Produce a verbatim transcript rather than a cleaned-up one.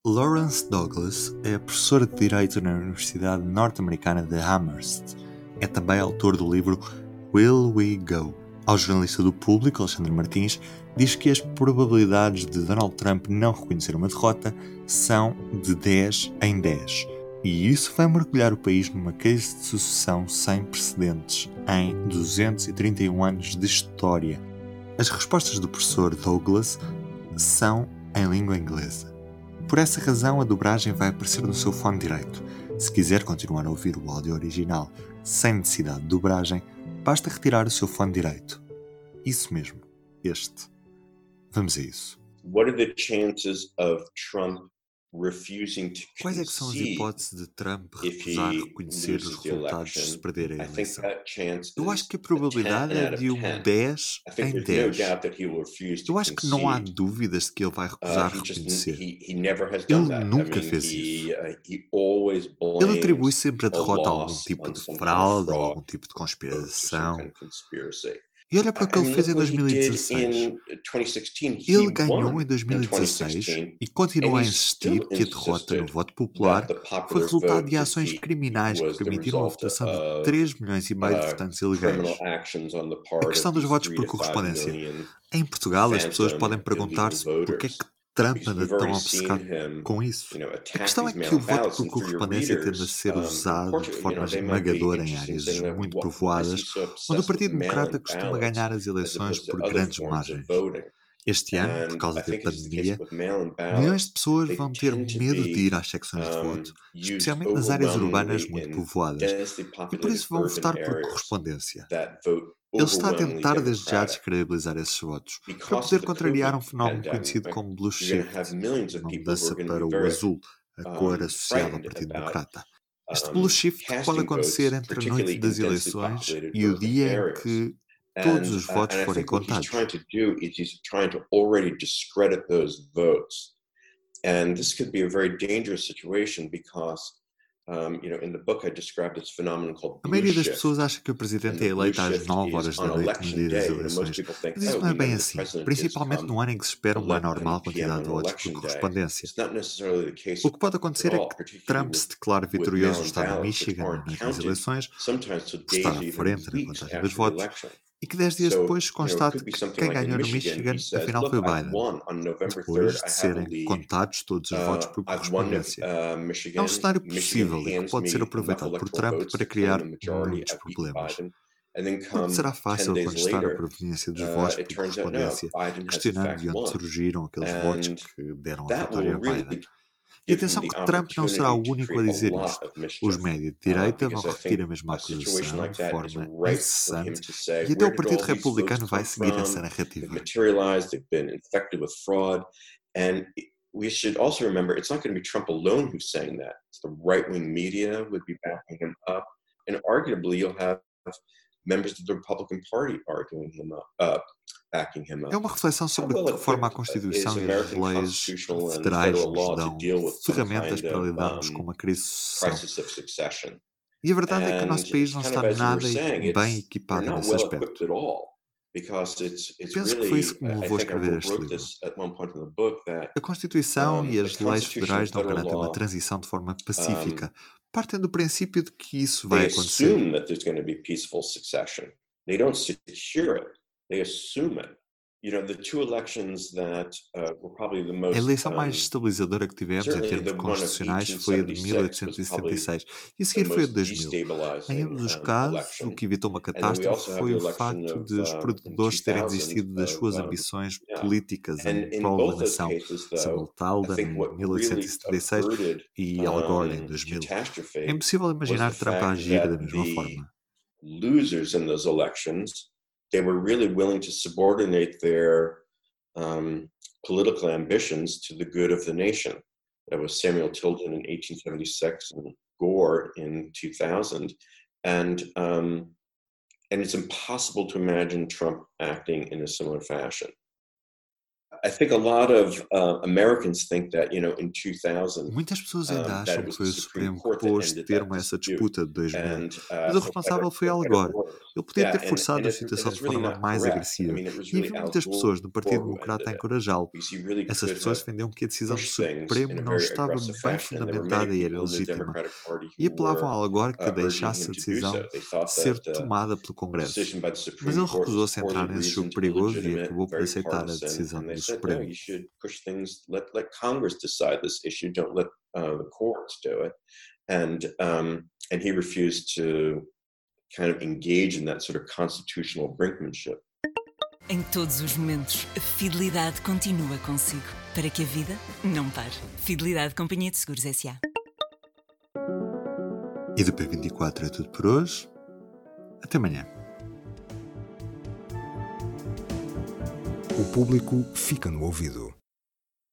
Lawrence Douglas é professor de Direito na Universidade Norte-Americana de Amherst. É também autor do livro Will We Go? Ao jornalista do Público, Alexandre Martins, diz que as probabilidades de Donald Trump não reconhecer uma derrota são de dez em dez. E isso vai mergulhar o país numa crise de sucessão sem precedentes em duzentos e trinta e um anos de história. As respostas do professor Douglas são em língua inglesa. Por essa razão, a dobragem vai aparecer no seu fone direito. Se quiser continuar a ouvir o áudio original sem necessidade de dobragem, basta retirar o seu fone direito. Isso mesmo, este. Vamos a isso. What are the chances of Trump refusing to Quais é que são as concede hipóteses de Trump if recusar he reconhecer os loses the resultados se election? perder a I think eleição? that chance Eu acho is que a a probabilidade ten é out of de um ten. dez I think em there's no dez. doubt that he will refuse to Eu acho que não há concede. dúvidas de que ele vai Uh, recusar he just reconhecer. he he never has Ele done that. I nunca mean, fez he isso. uh, he always Ele atribui blames sempre a a derrota a algum loss tipo on de some kind of fraude, a fraud algum tipo de or some kind conspiração. of conspiracy. E olha para o que I ele mean, fez em look what he did dois mil e dezesseis. in twenty sixteen. Ele He ganhou won em in dois mil e dezesseis twenty sixteen, e and continua a he insistir still que a derrota no insisted voto popular that the foi popular resultado vote de ações defeat criminais que was the permitiram a result votação de of três milhões e meio de uh, votantes criminal ilegais. actions on the A part of questão dos these votos three por to five correspondência. million Em Portugal, as pessoas podem phantom illegal perguntar-se porque é que voters, Trump because anda we've tão already seen obcecado him, com isso. you know, A attack questão é these que o mail-in voto ballots, por and for your correspondência tende a readers, ser um, in usado de Portugal, you know, forma they might be esmagadora em interested in áreas saying, well, muito wh- why is he povoadas, so onde o obsessed with Partido Democrata mail-in costuma ballots ganhar as as eleições opposed to por other grandes forms of margens. voting? Este ano, por And causa I da think it is the case pandemia, with mail-in milhões de ballots. pessoas They vão ter tend to medo de be ir às secções de um, voto, used especialmente nas áreas urbanas overwhelmingly muito in povoadas, densely e por populated isso vão urban votar por areas correspondência. that vote Ele está a overwhelmingly tentar desde já Democratic. descredibilizar esses votos, para Because poder of the contrariar um COVID fenómeno pandemic, conhecido como blue you're going to have shift, millions of uma people who mudança are going to para be o very azul, a cor um, associada ao frightened Partido about Democrata. Este blue um, shift pode casting acontecer votes, entre a noite particularly in das densely eleições populated e o urban dia em areas. que todos And, os uh, votos and I forem think what he's contados. trying to do is he's trying to already discredit those votes. And this could be a very dangerous situation because, um, you know, in the book I described this phenomenon called A blue maioria das shift. pessoas acha que o And presidente the é blue eleito às shift nove is horas on da noite no election dia das day. You know, most eleições. people think, Mas isso oh, não é we know bem who the assim, president is principalmente come no ano em que se espera uma normal eleven p m quantidade de on votos por election day. correspondência. It's not necessarily the case O que pode at acontecer é all, que particularly Trump with, se declare with vitorioso no mail-in estado de ballots, which Michigan na aren't noite das counted eleições, sometimes till por estar days à or even frente na weeks contagem dos after the votos, election. e que dez dias So, depois you know, it constate could be que something quem like in ganhou no Michigan, he Michigan says, afinal look, foi I've Biden, won on November third. depois I de have a serem lead. contados todos os votos Uh, por I've won correspondência. uh, É um Michigan. cenário Michigan possível e que hands pode ser me enough aproveitado por electoral Trump votes para to claim criar a majority. muitos I've beaten problemas. Biden. And then Porque come será ten fácil days contestar a later, proveniência dos votos uh, it por turns out no, correspondência, Biden has in questionando fact de onde won. surgiram aqueles votos And que deram a that will vitória a Biden. really E give him atenção the que Trump não será opportunity o to único a create a dizer lot isto. of Os mischief. médias de Uh, direita vão because I repetir think a mesma a situation acusação like de that is forma ripe for him incessante to say, e até o where did Partido all these votes Republicano vai come seguir essa from? They've narrativa. materialized, they've been infected with fraud. And we should also remember, it's not going to be Trump alone who's saying that. It's the right-wing media would be backing him up. And arguably, you'll have members of the Republican Party arguing him up, uh, backing him É up. uma reflexão How sobre que well reforma a equipped is Constituição e as American leis constitutional and federais federal nos law to dão deal with some ferramentas kind para of lidarmos com um, uma crise de sucessão. crisis of succession? E a verdade é que o And nosso país it's não kind está of as you were nada saying, bem it's they're equipado not nesse well equipped aspecto. at all, because it's it's Penso que foi isso really que me I I levou a think I escrever wrote este wrote livro. this at one point in the book that A Constituição um, e the as leis Constitution federais and não federal garantem uma law transição de forma um, pacífica. Partem do princípio de que isso they vai acontecer. assume that there's going to be peaceful succession. They don't secure it. They assume it. You know, the two elections that uh, were probably the A most eleição mais um, estabilizadora que tivemos em certainly termos the one of constitucionais eighteen foi a de seventy-six was probably mil oitocentos e setenta e seis e a the seguir foi a de most dois mil. Em destabilizing ambos os um, casos, o election. que evitou uma And then we catástrofe also have foi the o election facto of de os um, in perdedores terem two thousand desistido das of suas um, ambições yeah. políticas And em in prol da both those nação. cases, though, Samuel I Talden think em what mil oitocentos e really setenta e seis averted e Al Gore em um, dois mil. É catastrophe impossível was the imaginar Trump a fact agir da that mesma the forma. losers in those elections, they were really willing to subordinate their um, political ambitions to the good of the nation. That was Samuel Tilden in eighteen seventy-six and Gore in two thousand. And, um, and it's impossible to imagine Trump acting in a similar fashion. I think a lot of uh, Americans think that, you know, in two thousand, Muitas pessoas ainda um, that acham it que was foi the o Supreme Supremo que Court that pôs ended termo that a essa dispute. disputa de dois mil, And mas uh, o for responsável better, foi for Al better Gore. or worse. Ele podia Yeah, ter and, forçado and, a it's, and situação it's de really forma not mais correct. I agressiva, mean, it was e really havia Al muitas pessoas do Partido Gore who Democrata ended a it. encorajá-lo. Because he really Essas could pessoas have defendiam que a decisão do pushed things in Supremo a não very estava aggressive bem fashion, and there were many fundamentada e era people in the legítima, Democratic Party e who apelavam were a Al Gore que uh, urging deixasse him a to do decisão so. They thought ser that uh, tomada pelo the Congresso. decision by the Mas Supreme ele Court was recusou-se a poorly entrar nesse jogo reasoned, perigoso e illegitimate, acabou por very aceitar a partisan, decisão and they do said, no, Supremo. you should push things, let, let Congress decide this issue, don't let uh, the courts do it. And, um, and he refused to kind of engage in that sort of constitutional brinkmanship. Em todos os momentos, a fidelidade continua consigo, para que a vida não pare. Fidelidade Companhia de Seguros S A. E do P vinte e quatro é tudo por hoje. Até amanhã. O público fica no ouvido.